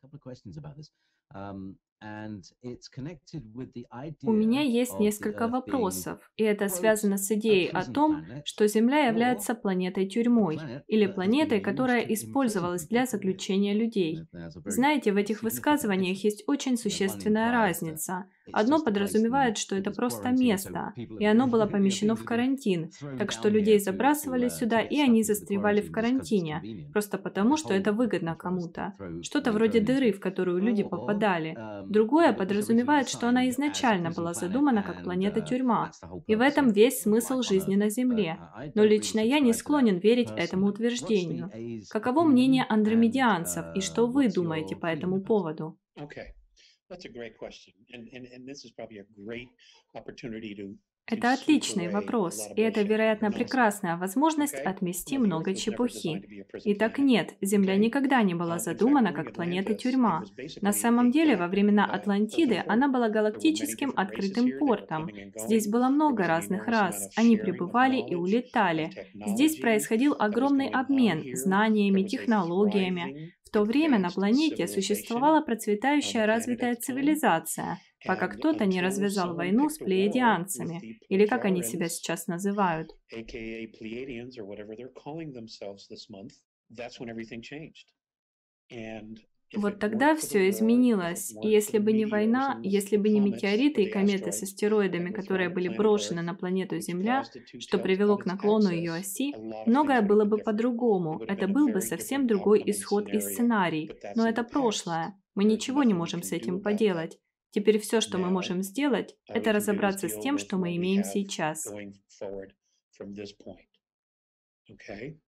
У меня есть несколько вопросов, и это связано с идеей о том, что Земля является планетой-тюрьмой, или планетой, которая использовалась для заключения людей. Знаете, в этих высказываниях есть очень существенная разница. Одно подразумевает, что это просто место, и оно было помещено в карантин, так что людей забрасывали сюда, и они застревали в карантине, просто потому, что это выгодно кому-то. Что-то вроде дыры, в которую люди попадали. Другое подразумевает, что она изначально была задумана как планета-тюрьма, и в этом весь смысл жизни на Земле. Но лично я не склонен верить этому утверждению. Каково мнение андромедианцев, и что вы думаете по этому поводу? Okay, that's a great question, and this is probably a great opportunity to Это sweep отличный away a вопрос, lot of и это, bullshit вероятно, and nonsense. прекрасная возможность Okay, отмести the много Earth was never designed чепухи. to be a prison Итак, planet. нет, Земля Okay, никогда не была in fact, задумана during как Atlantis, it планета-тюрьма. was На basically самом a деле, во dock времена of the Атлантиды port. она была There were many галактическим different races открытым here. They were портом. coming and Здесь going. было There много was an разных enormous amount рас. of Они sharing of прибывали и knowledge, of улетали. Здесь technology происходил that was огромный going on обмен here. There знаниями, was a технологиями. thriving, В то время на advanced планете civilization существовала on процветающая the planet at развитая the time. цивилизация, пока And кто-то не until развязал someone войну с picked a war with плеядианцами, the или как они себя Plejarans, сейчас называют. aka Pleiadians, or whatever they're calling themselves this month, that's when everything changed. And if Вот it тогда weren't for the все war, if it изменилось, и weren't for если the бы не meteors война, and если the бы не comets or метеориты и the кометы с asteroids that астероидами, were которые thrown at были planet брошены Earth, на планету which Земля, caused it to что tilt привело on к its наклону ее axis, оси, a lot of things многое would have было been бы different. It по-другому, would have это been a был бы very совсем different другой outcome and исход и scenario. сценарий, But that's но in это the past. прошлое. Мы There's ничего не nothing we можем can с этим do about that. поделать. Теперь все, что мы Now, можем сделать, all we это can do is разобраться с deal тем, with что what мы we имеем have сейчас. going forward from this point. Okay?